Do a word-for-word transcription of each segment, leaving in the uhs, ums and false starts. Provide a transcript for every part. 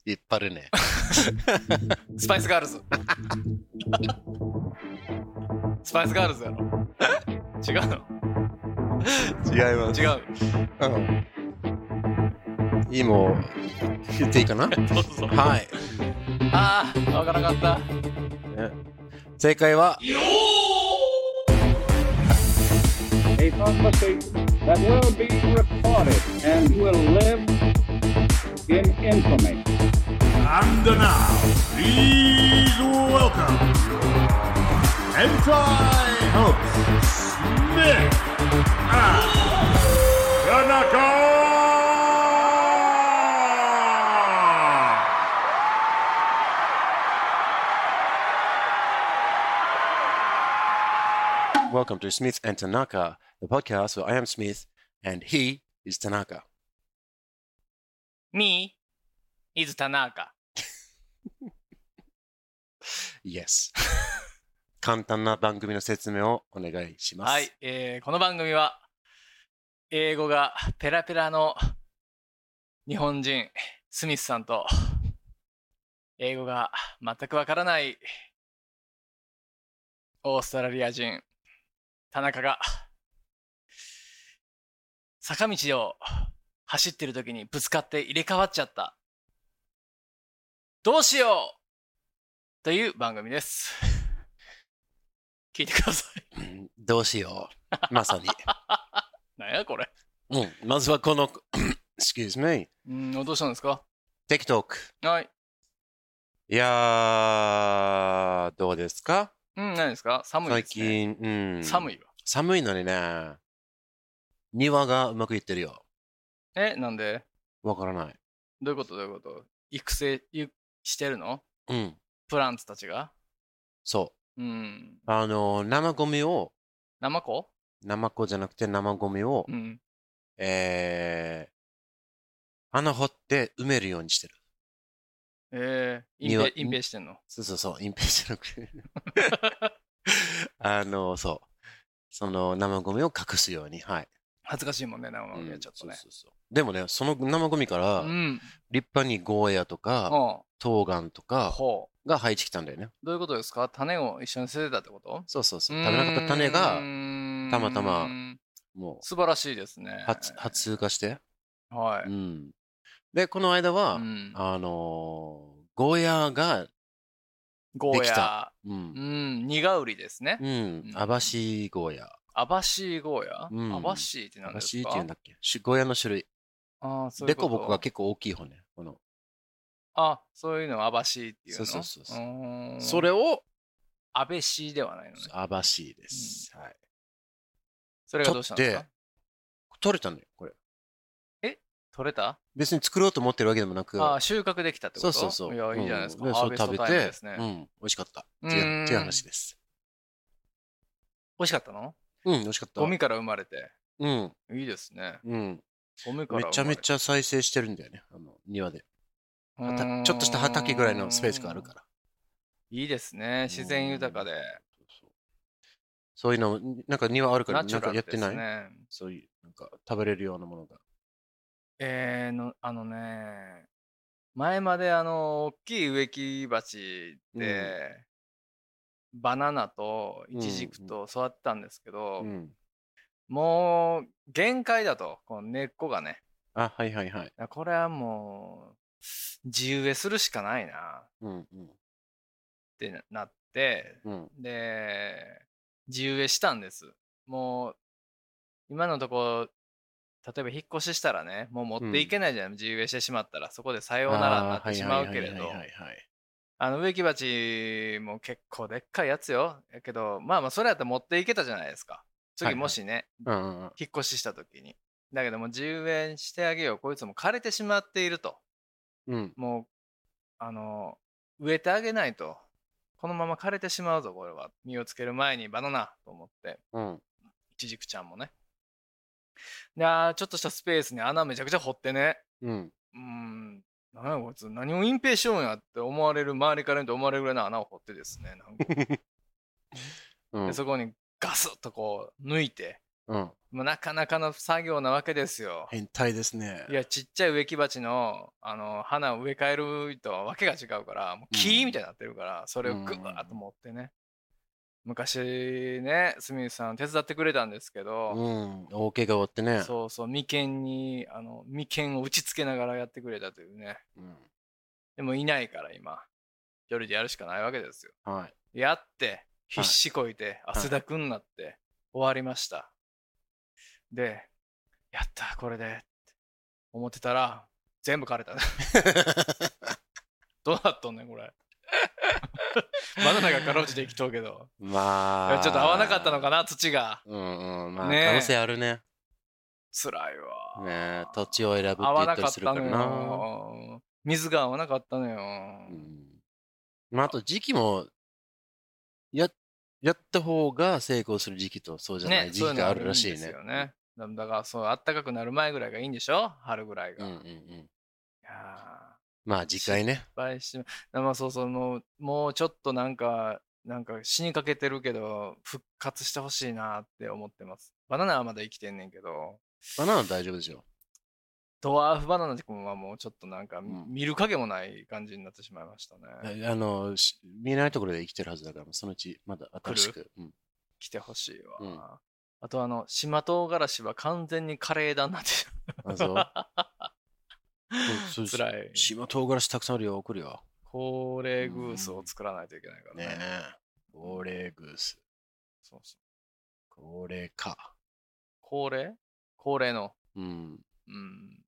引っ張るね。 スパイスガールズ。スパイスガールズやろ。違うの？ 違います。 違う。 うん。いいも言っていいかな？ どうぞ。 はい。 ああ、わからなかった。 ね、正解は。 A conversation that will be recorded and will live in infamy. And now, please welcome anti-host Smith and Tanaka! Welcome to Smith and Tanaka, the podcast where I am Smith and he is Tanaka. Me is Tanaka. Yes. 簡単な番組の説明をお願いします。 はい、えー、この番組は英語がペラペラの日本人スミスさんと英語が全くわからないオーストラリア人田中が坂道を走ってる時にぶつかって入れ替わっちゃった。どうしようという番組です。聞いてください。 うん、どうしよう。まさに。 なんやこれ。 うん、まずはこのexcuse me。 うん、どうしたんですか？ TikTok。 はい。 いやー、どうですか？ うん、何ですか？寒いですね。 最近、うん。 寒いわ。 寒いのにね、庭がうまくいってるよ。 え、なんで？ わからない。 どういうことどういうこと育成ゆしてるの？ うん。 プランツたちが？ そう。 うん。 あの、生ゴミを、 生子？ 生子じゃなくて生ゴミを、 うん。 えー、穴掘って埋めるようにしてる。 えー、隠庭蔽、隠蔽してんの？ そうそうそう、隠蔽してなくて。あの、そう。その生ゴミを隠すように、はい。 恥ずかしいもんね、生ゴミはちょっとね。 うん、そうそうそう。でもね、その生ゴミからうん。 立派にゴーヤとか、 ほ冬瓜とう。 かほう。 が生えてきたんだよね。 どういうことですか？種を一緒に捨ててたってこと？ そうそうそう。食べなかった種がうーんたまたまも素晴らしいですね。 う発発通過して。 はい。 うん。で、この間は、 うんあのー、ゴーヤがゴーできた。 ヤ。 う。 うんん。苦売りですね。 うん。 うんアバシーゴーヤ。 アバシーゴーヤ？ うんアバシーってア何ですか？ バシーって言うんだっけ？しゴーヤの種類。 ああ、そういうこと。 デコボコが結構大きい方ね。この。 あ、そういうのをアバシーっていうの？ そうそうそうそうーんそれを、 アベシーではないのね。 アバシーです。はい。 それがどうしたんですか？ 取れたのよ、これ。 取れた？ 別に作ろうと思ってるわけでもなく。 ああ、収穫できたってこと？ そうそうそう。 いや、いいじゃないですか。 うん、 ハーベストタイムですね。 うん、美味しかった。ってうーんいうっていう話です。 美味しかったの？ うん、美味しかった。 ゴミから生まれて。 うん。 いいですね。 うん。 ゴミから生まれて。 めちゃめちゃ再生してるんだよね、あの庭で。 うーんちょっとした畑ぐらいのスペースがあるから。 いいですね。自然豊かで。 そうそういうの、なんか庭あるから、なんナチュラルかやってない？ ですね。 そういう、なんか食べれるようなものが。 えー、の、あのね、前まであの、大きい植木鉢で、バナナとイチジクと育ってたんですけど、 うん。 もう限界だと、この根っこがね。 あ、はいはいはい。 これはもう、地植えするしかないなうんうん。 ってなって、 うん。 で、地植えしたんです。もう、今のとこ、例えば引っ越ししたらね、もう持っていけないじゃない、地植えしてしまったら、そこでさようならになってしまうけれど、 はいはいはいはいはい。 あの植木鉢も結構でっかいやつよ。やけど、まあまあ、それやったら持っていけたじゃないですか。次もしね、 うんうんうん。 引っ越しした時に。だけども、地植えしてあげよう。こいつも枯れてしまっていると。 うん。 もう、あの、植えてあげないと。このまま枯れてしまうぞ、これは。実をつける前にバナナと思って。 うん。 イチジクちゃんもね。で、あーちょっとしたスペースに穴めちゃくちゃ掘ってね。 うん。 うーん、何やこいつ、何を隠蔽しようんやって思われる、周りから見て思われるぐらいの穴を掘ってですね。なんかうんでそこにガスッとこう抜いて、 うん。 もうなかなかの作業なわけですよ。 変態ですね。 いや、ちっちゃい植木鉢の、あの、花を植え替えるとわけが違うから、もう木みたいになってるから、それをぐわーっと持ってね。昔ね、スミスさん手伝ってくれたんですけど、 うん。大怪我負ってね。 そうそう、眉間に、あの、眉間を打ち付けながらやってくれたというね。 うん。 でもいないから今、一人でやるしかないわけですよ。 はい。 やって、必死こいて、汗だくになって終わりました。で、やった、これで、って思ってたら、全部枯れた。どうなっとんねん、これ。バナナがかろうじて生きとうけど。 まあ。 ちょっと合わなかったのかな、土が。 うんうん。まあ、 ねえ可能性あるね。 辛いわ。 ねえ、土地を選ぶって合わ言ったなかったのりするからな。 よ。水が合わなかったのよ。 うん。まあ、あと時期も、や、やった方が成功する時期とそうじゃないね、 時期があるらしいそううのあね。 るんですよね。だだから、そう、暖かくなる前ぐらいがいいんでしょ、春ぐらいが。 うんうんうん。 いやまあ、次回ね。 失敗し、まあそうそう、もう、もうちょっとなんか、なんか死にかけてるけど、復活してほしいなって思ってます。バナナはまだ生きてんねんけど、 バナナ大丈夫ですよ。 ドワーフバナナ君はもうちょっとなんか、 ん見る影もない感じになってしまいましたね。 あの、し見えないところで生きてるはずだから、そのうちまだ新しく。うん。 来てほしいわ。 うんあとあの、島唐辛子は完全にカレーだになってあ、そう。 る。辛い。 島唐辛子たくさんあるよ、送るよ。 高齢グースを作らないといけないからね。 ねえ。高齢グース。 そうそう。 高齢か。 高齢高齢の。 うん。 うん。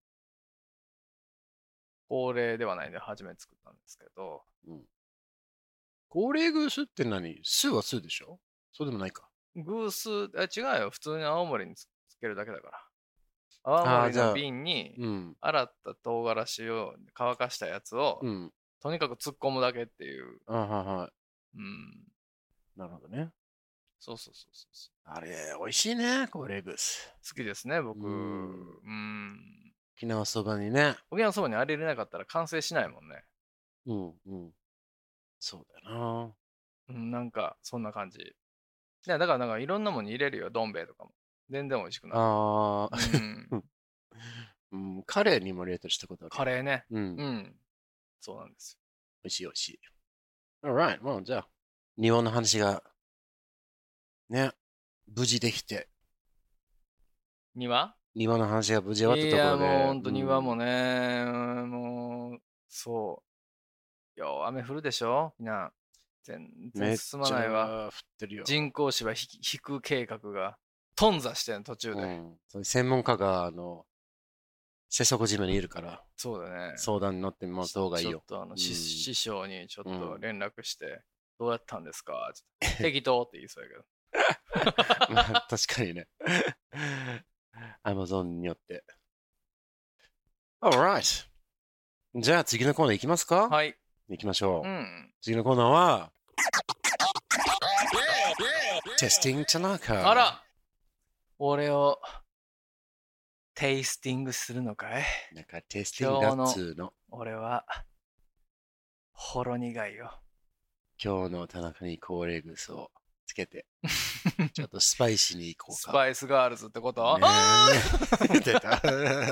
高齢ではないんで初めて作ったんですけど。 高齢グースって何？スはスでしょ？そうでもないか。 グース、え違うよ。普通に青森につけるだけだから。青森のあーじゃあ瓶にうん。 洗った唐辛子を乾かしたやつを、 うん。 とにかく突っ込むだけっていう。 あはいはい。 うん。 なるほどね。 そうそうそうそうそあれ、美味しいね、高齢グース。 う。好きですね、僕。 ううんん。 沖縄そばにね。 沖縄そばにあれ入れなかったら完成しないもんね。 うんうん。そうだよな。 うん、なんか、そんな感じ。いや、だから、なんかいろんなものに入れるよ、どん兵衛とかも。全然美味しくなる。 ああ、 うん。 うん、カレーにも入れたりしたことある。 カレーね。 うん。美うん。そうなんです味しい美味しい。Alright, もうじゃあ、庭の話が、ね、無事できて、 よ。庭庭の話が無事終わったところで。 いや、もう本当庭もね。 ね、うんもう、そう。よう、雨降るでしょみんな。全めっち然進まないわ。 ゃ降ってるよ。 人工芝引き引く計画が頓挫してん途中で。 うん、そういう専門家が、あの、瀬底島にいるから、 そうだね。 相談に乗ってもらった方がいいよちょっ。とあの、しうん師匠にちょっとうん連絡して、どうやったんですかちょっと適当って言いそうやけど。 まあ確かにね。アマゾンによって。Alright. じゃあ次のコーナー行きますか？ はい。 行きましょう。 うん。 次のコーナーは、Testing Tanaka。 あら俺をテイスティングするのかい？ なんかテスティングだっつーの。 俺は、ほろ苦いよ。 今日の田中に高齢グスをつけて、ちょっとスパイシーに行こうか。 スパイスガールズってこと？ ねえ出た。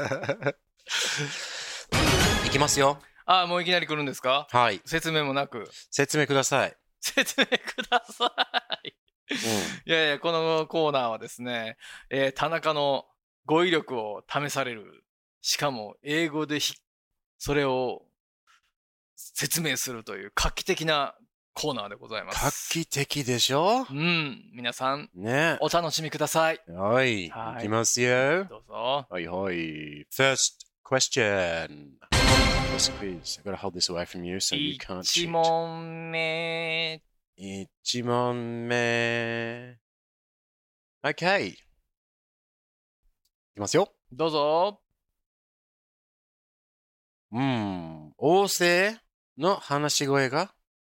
いきますよ。 ああ、もういきなり来るんですか？ はい。 説明もなく。 説明ください。 説明ください。いやいや、このコーナーはですね、えー田中の語彙力を試される。しかも、英語でひそれを説明するという画期的なコーナーでございま画す。 期的でしょ？ うん、皆さん、 ねお楽しみください。 え。はい。 はいいきますよ。 どうぞ。 はいはい。First question. This quiz. I've got to hold this away from you so you can't 一 cheat. 問目。 一問目。OK。いきますよ。 どうぞ。 うん。王政の話し声が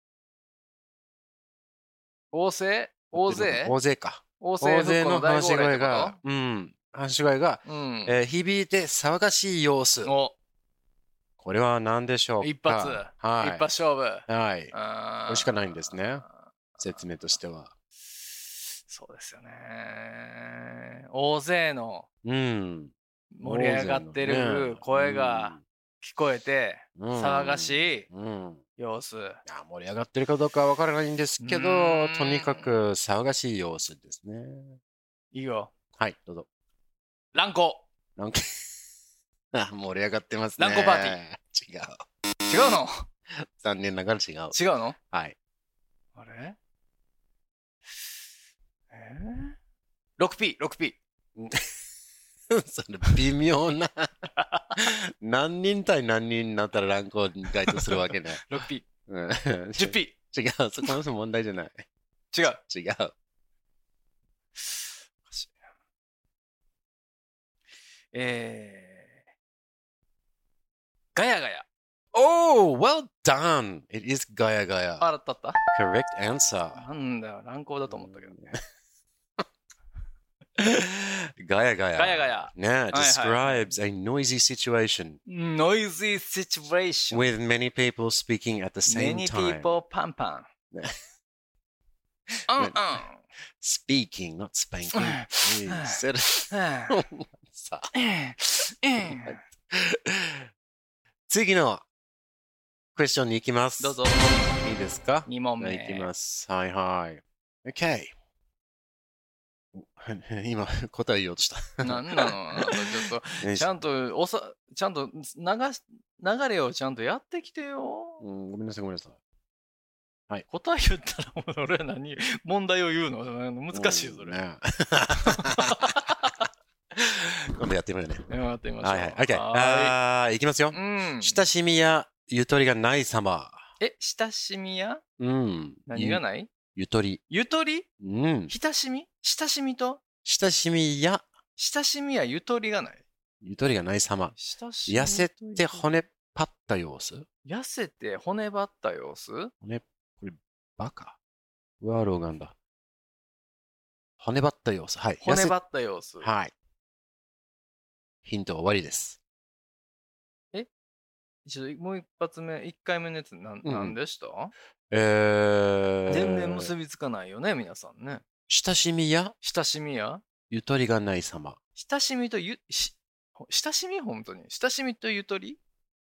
大勢大勢大勢か。 大勢大勢の復古の大話し声号令ってこが、うん。話し声が、 と？うん。 えー響いて騒がしい様子。 お、 これは何でしょうか？ 一発。 はい。 一発勝負。 はい。 あーこれしかないんですね。説明としては。 そうですよね。大勢のうん。 盛り上がってる声が聞こえて、騒がしいうん。 様子。 いや盛り上がってるかどうかはわからないんですけうど、 ーんとにかく騒がしい様子ですね。 いいよ。 はい、どうぞ。 乱行。 なんかあ盛り上がってますね。 乱行パーティー。違う。 違うの残念ながら違う。 違うのはい。 あれえー、ろくピー、ろくピー。 それ微妙な何人対何人になったら乱行に該当するわけね。 ろくピうんー。じゅっピ違う、そこの問題じゃない。 ー。違う。 違う。 えー、ガヤガヤ。 Oh, well done! It is ガヤガヤ。 あらったった Correct answer. なんだよ、乱行だと思ったけどね。 ガヤガヤ。 ガヤガヤ。 ね、describes a noisy situation Noisy situation. with many people speaking at the same Many time. people パンパン。 ねうんうん。 Speaking, not spanking. You said it. さあ次のクエスチョンに行きます。 どうぞ。 いいですか？ に問目。 行きます。はいはい。OK。今、答え言おうとした。 なんなのあとちょっと、ちゃんと、おさ、ちゃんと流し、流れをちゃんとやってきてよ。 うん、ごめんなさい、ごめんなさい。 答え言ったら、俺は何、問題を言うの難しいよ、それ。 ね、今度やってみるね。 やってみましょう。 はいはい。OK。 はあー、いきますよ。 い。うん。 親しみやゆとりがない様。 え、親しみやうん。 何がないゆゆとり。 ゆとりうん。 親しみ親しみと親しみや親しみやゆとりがないゆとりがない様。 親しみ痩せて骨パった様子。 痩せて骨張った様子骨、これ、バカ。ワーローガンだ。骨張った様子。はい。 骨張った様子。 はい。ヒントは終わりです。 ちょっともう一発目、一回目のやつなん、 うんなんでしたえー、 全然結びつかないよね、皆さんね。 親しみや親しみやゆとりがない様。 親しみとゆ、し、ほ親しみ本当に親しみとゆとり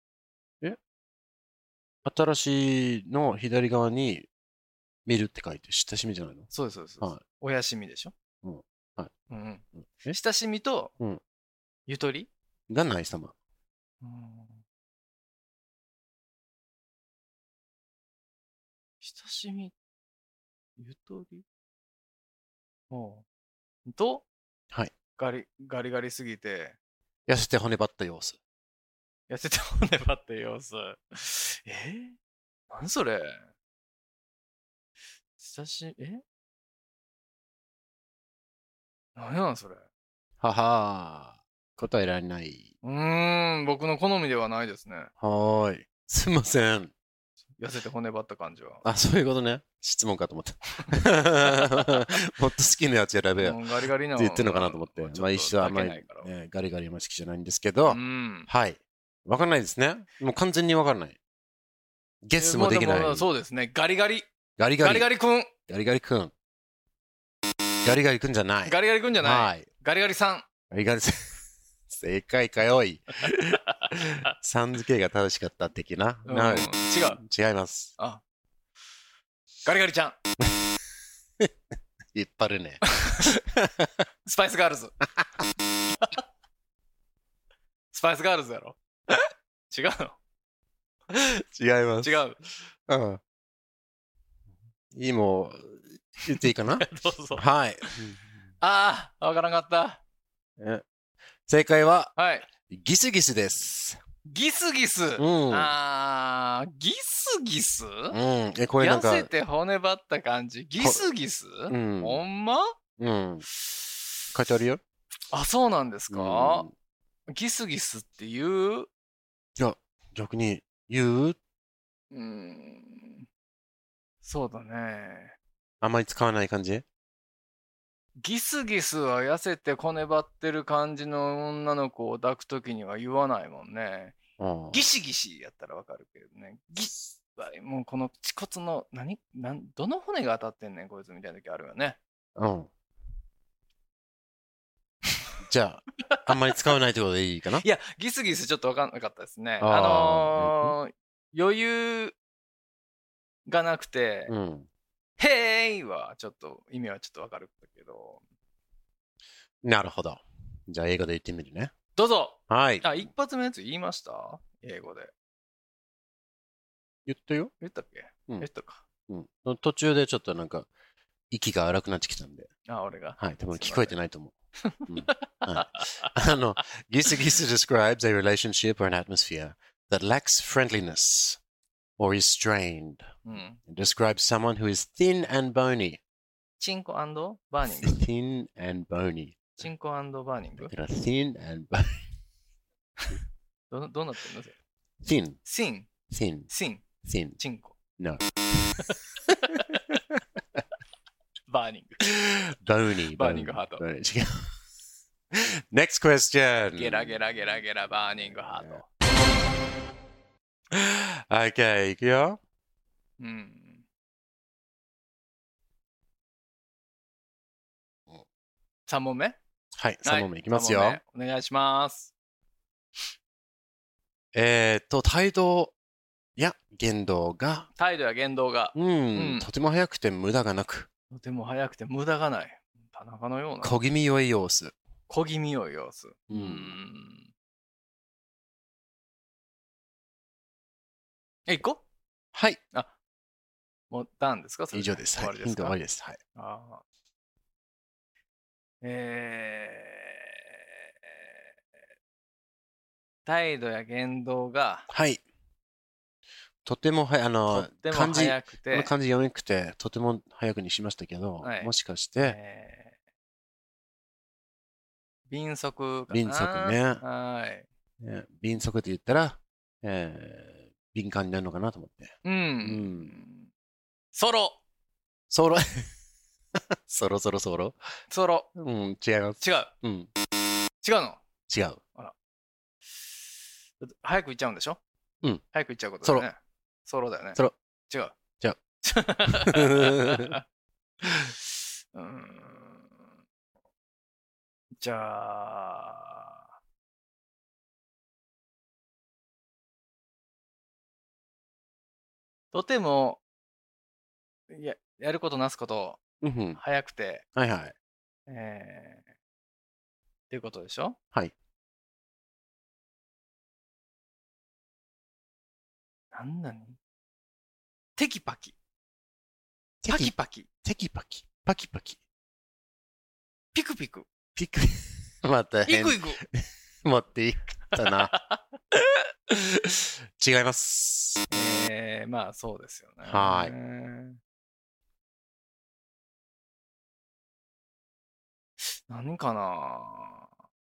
新しいの左側に見るって書いて親しみじゃないの？ そうです、そうです。そうですはいおやしみでしょうんはい。 うんうん。 え親しみとうんゆとりがない様。 うん親しみ、ゆとりおうと、 はい。 ガリ、ガリガリすぎて、 痩せて骨張った様子。 痩せて骨張った様子。えー、何それ親しみ、え何やなんそれははー。答えられない。 うーん、僕の好みではないですね。 はーい。すいません。 痩せて骨張った感じは。 あ、そういうことね。質問かと思った。もっと好きなやつ選べよ。 うんガリガリなって言ってるのかなと思って。まあ一緒はあんまり、 ないから。 ね、ガリガリあんまり好きじゃないんですけど、 うん。 はい。わかんないですね。もう完全にわかんない。ゲスもできない。 えもうそうですね。ガリガリ。 ガリガリ。 ガリガリ君。 ガリガリくん。ガリガリくんじゃない。 ガリガリ君じゃない。 はい。 ガリガリさん。 ガリガリさん。正解かよい。さん付けが正しかった的な。 うんな違う。 違います。 あ。ガリガリちゃん。 引っ張るね。 スパイスガールズ。スパイスガールズやろ。違う違います。 の違う。 うん。いいも言っていいかなどうぞ。 はい。 ああ、わからんかった。 え正解は、 はい。 ギスギスです。 ギスギス。 うん。 ああ、ギスギスうん。え、これなんか、 痩せて骨張った感じ。ギスギスうん。 ほんまうん。書いてあるよ。 あ、そうなんですうかんギスギスっていういや、逆に言ううーん。そうだね。 あんまり使わない感じギスギスは痩せて骨張ってる感じの女の子を抱くときには言わないもんね。 うん。 ギシギシやったらわかるけどね。ギス、もうこの恥骨の、何なんどの骨が当たってんねんこいつみたいな時あるよね。 うん。じゃあ、あんまり使わないってことでいいかな？ いや、ギスギスちょっと分かんなかったですね。 あーあのー余裕がなくて、 うん。 へーいはちょっと意味はちょっと分かるけど。 なるほど。じゃあ、英語で言ってみるね。 どうぞ。 はい。 あ、一発目のやつ言いました英語で。 言ったよ。 言ったっけ、 うん言ったか。 うん。途中でちょっとなんか、息が荒くなってきたんで。 あ、俺が。 はい。多分聞こえてないと思う。うん、はい、あの、ギスギス describes a relationship or an atmosphere that lacks friendliness or is strained. うん。 It describes someone who is thin and bony. チンコバーニング Thin and bony. チンコバーニング Thin and bony. ど, どうなってんの Thin. シン Thin. シン Thin. チンコ No. バーニング Bony. バーニングハート Bony. Next question. ゲラゲラゲラゲラバーニングハート Okay, いくよ。 うん。さん問目はい、さん問目いきますよ。 はい、お願いします。 えーっと、態度や言動が、 態度や言動が、 うん、うん、とても早くて無駄がなく、 とても早くて無駄がない。田中のような。 小気味良い様子。 小気味良い様子。 うん。 うんえ、行こうはい。 あ、もうたんですかそれ以上です。はい。ヒント終わりです。はい。 ああ。えー、態度や言動が、 はい。とてもはや、あの、 とても漢字、 早くて、 この漢字読みにくくて、とても早くにしましたけど、 はい、 もしかして、 えー、敏速かな。 敏速ね。 はい。 ね、敏速って言ったら、えー、敏感になるのかなと思って。 うん。うん、ソロ。 ソロ。そろそろそろソロ。 うん、違います。 違う。 うん。 違うの違う。 あら。早く行っちゃうんでしょうん。 早く行っちゃうことだよね。ソロだよね。 ソロ。 違う。 違う。 うーん。じゃあ。とても、や、やることなすこと、 うん、 早くて、 はいはい。 えー、っていうことでしょはい。 なんなにテキパキ。パキパキ。 テキパキ。パキパキ。 ピクピク。 ピク、また変。 イクイク。 持っていったな。違います。 えー、まあそうですよね。 はい。 何かな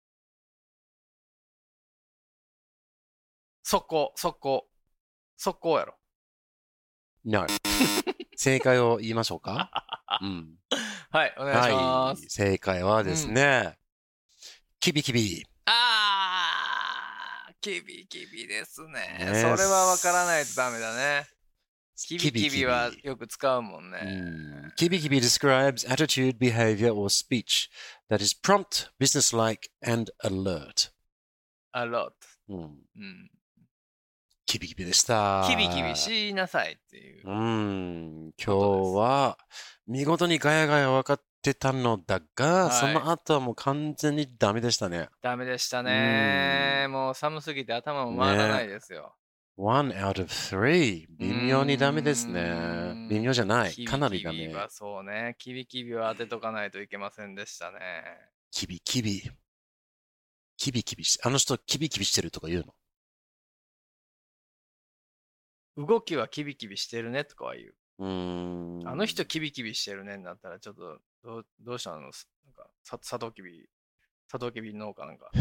速攻、速攻。速攻やろ。 No. 正解を言いましょうか。うん。 はい、お願いします。 はい、正解はですね、うん、キビキビ。 あー、キビキビですね。ね、それは分からないとダメだね。キビキビはよく使うもんね。 うん、キビキビ describes attitude, behavior, or speech that is prompt, businesslike, and alert. alert. うん。 うん、 キビキビでした。 キビキビしなさいっていう。 うん。今日は見事にガヤガヤ分かってたのだが、はい、その後はもう完全にダメでしたね。 ダメでしたね。もう寒すぎて頭も回らないですよ。ね、 one out of three。微妙にダメですね。微妙じゃない。かなりダメ。 キビキビはそうね。キビキビは当てとかないといけませんでしたね。 キビキビ。キビキビし、あの人キビキビしてるとか言うの？ 動きはキビキビしてるねとかは言う。 うーん。 あの人キビキビしてるねになったらちょっとどう、どうしたの？なんかさサトウキビ、サトウキビ農家なんか。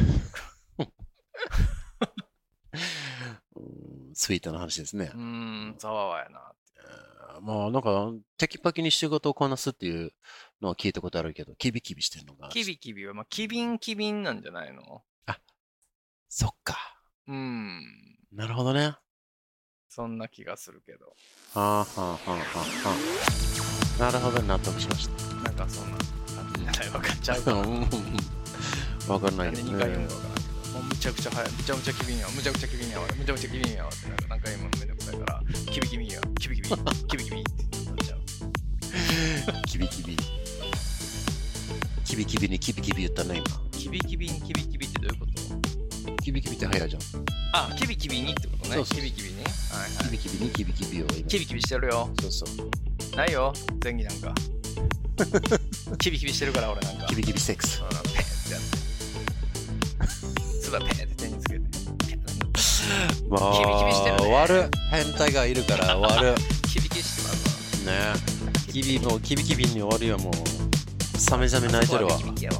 スイートな話ですね。 うーん、ざわわやなって。 えー、まあなんかテキパキに仕事をこなすっていうのは聞いたことあるけど、キビキビしてるのが。 キビキビはまあキビンキビンなんじゃないの？ あ、そっか。 うーん。 なるほどね。 そんな気がするけど。 はあはあはあはあはあ。なるほど、納得しました。 納なんかそんな感じじゃないわかっちゃうかな。 わかんないなんでにかい読むかわからんけど、もうむちゃくちゃ早い、むちゃむちゃ機敏やわ、むちゃくちゃ機敏やわ、むちゃくちゃ機敏やわってなんか何回もめんどくさいから、キビキビや、キビキビ、キビキビってなっちゃう。 キビキビ。キビキビにキビキビ言ったね、今。 キビキビにキビキビってどういうこと？ キビキビって早いじゃん。 あ、キビキビにってことね。 そうそうそうキビキビに。はいはい。 キビキビにキビキビを今。 キビキビしてるよ。 そうそう。 ないよ、前儀なんか。キビキビしてるから俺なんか。 キビキビセックス。 ペッってやって。つばペッって手につけて。 まあ、 キビキビしてるね終わる。変態がいるから終わる。 キビキビしてますわ。 ねえ。キビもうキビキビに終わるよもう。サメザメ泣いてるわ。 キビキビやろ。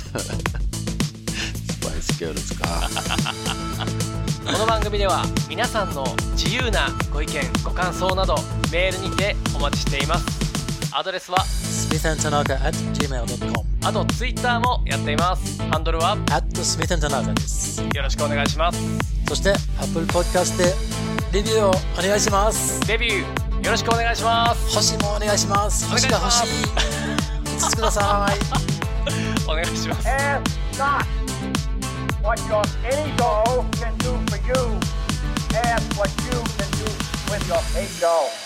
スパイスギャルズか。 この番組では皆さんの自由なご意見ご感想などメールにてお待ちしています。アドレスはスミス アンドタナカ アット ジーメール ドット コムあとツイッターもやっています。ハンドルはアット スミス アンドタナカです。 よろしくお願いします。 そして Apple Podcast でレビューをお願いします。 デビューよろしくお願いします。 星もお願いします。 お願いします星が欲しい。いつつください。 お願いします。 Ask not what your ego can do for you. Ask what you can do with your ego.